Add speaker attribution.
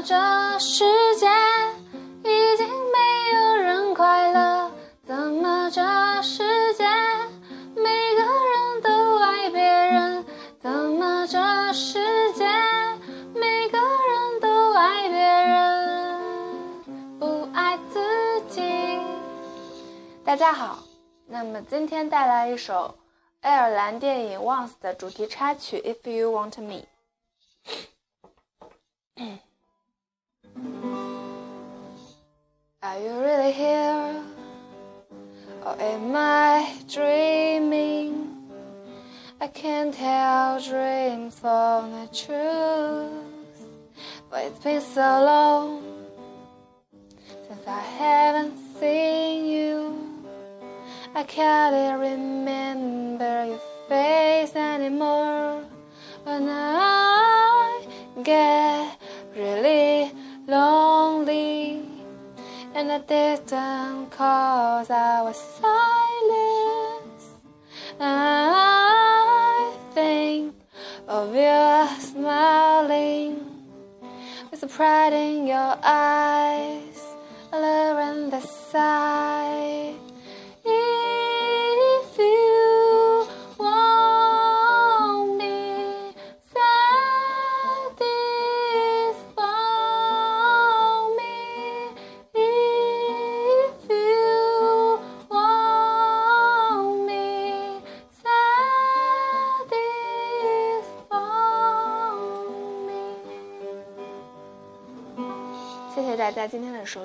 Speaker 1: 这世界已经没有人快乐？怎么这世界每个人都爱别人？怎么这世界每个人都爱别人，不爱自己？大家好，那么今天带来一首爱尔兰电影 Once 的主题插曲 If You Want Me。 Are you really here? Or am I dreaming? I can't tell dreams from the truth, but it's been so long since I haven't seen you. I can't remember your face anymore. When I get really lonely and the distance calls our silence, I think of you smiling with the pride in your eyes, love in the sight. If you want me, satisfy me. If you want me, satisfy me. 谢谢大家今天的收听。